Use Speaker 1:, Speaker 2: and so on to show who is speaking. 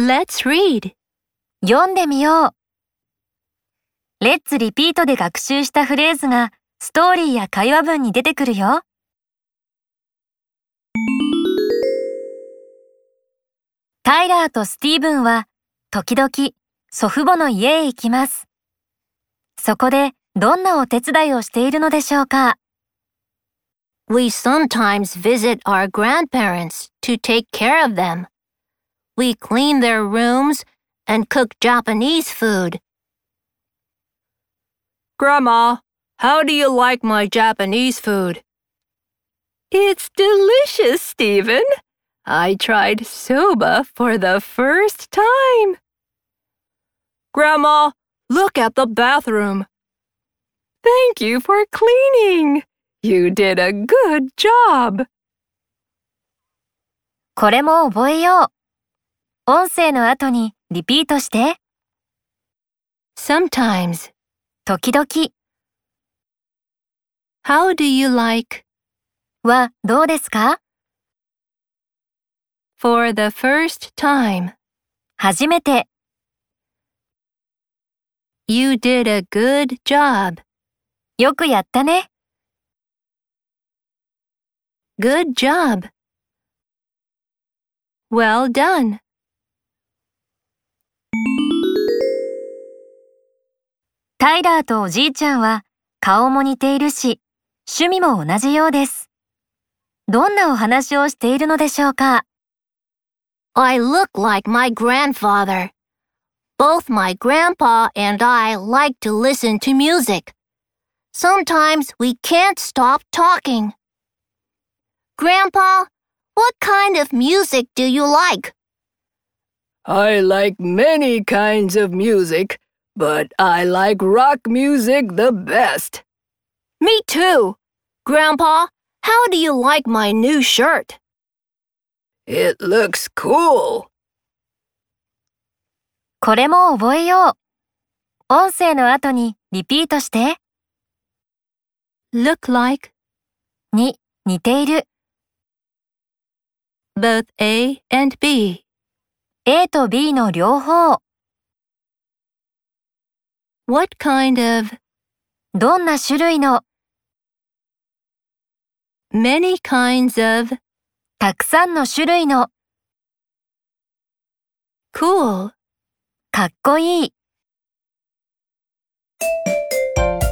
Speaker 1: Let's read.
Speaker 2: 読んでみよう。レッツリピートで学習したフレーズがストーリーや会話文に出てくるよ。タイラーとスティーブンは時々祖父母の家へ行きます。そこでどんなお手伝いをしているのでしょうか？
Speaker 1: We sometimes visit our grandparents to take care of them. We clean their rooms and cook Japanese food. Grandma, how do you like my Japanese food? It's delicious, Stephen. I tried soba for the first time. Grandma, look at the bathroom. Thank you for cleaning. You did a good job.
Speaker 2: これも覚えよう。音声の後にリピートして。
Speaker 1: Sometimes.
Speaker 2: 時々。
Speaker 1: How do you like?
Speaker 2: はどうですか？
Speaker 1: For the first time.
Speaker 2: 初めて。
Speaker 1: You did a good job.
Speaker 2: よくやったね。
Speaker 1: Good job. Well done.
Speaker 2: タイラーとおじいちゃんは顔も似ているし、趣味も同じようです。どんなお話をしているのでしょうか？
Speaker 1: I look like my grandfather. Both my grandpa and I like to listen to music. Sometimes we can't stop talking. Grandpa, what kind of music do you like?
Speaker 3: I like many kinds of music, but I like rock music the best.
Speaker 1: Me too. Grandpa, how do you like my new shirt?
Speaker 3: It looks cool.
Speaker 2: これも覚えよう。音声の後にリピートして。
Speaker 1: Look like
Speaker 2: に似ている。
Speaker 1: both A and B.
Speaker 2: A と B の両方。
Speaker 1: What kind of
Speaker 2: どんな種類の。
Speaker 1: many kinds of
Speaker 2: たくさんの種類の。
Speaker 1: cool.
Speaker 2: かっこいい。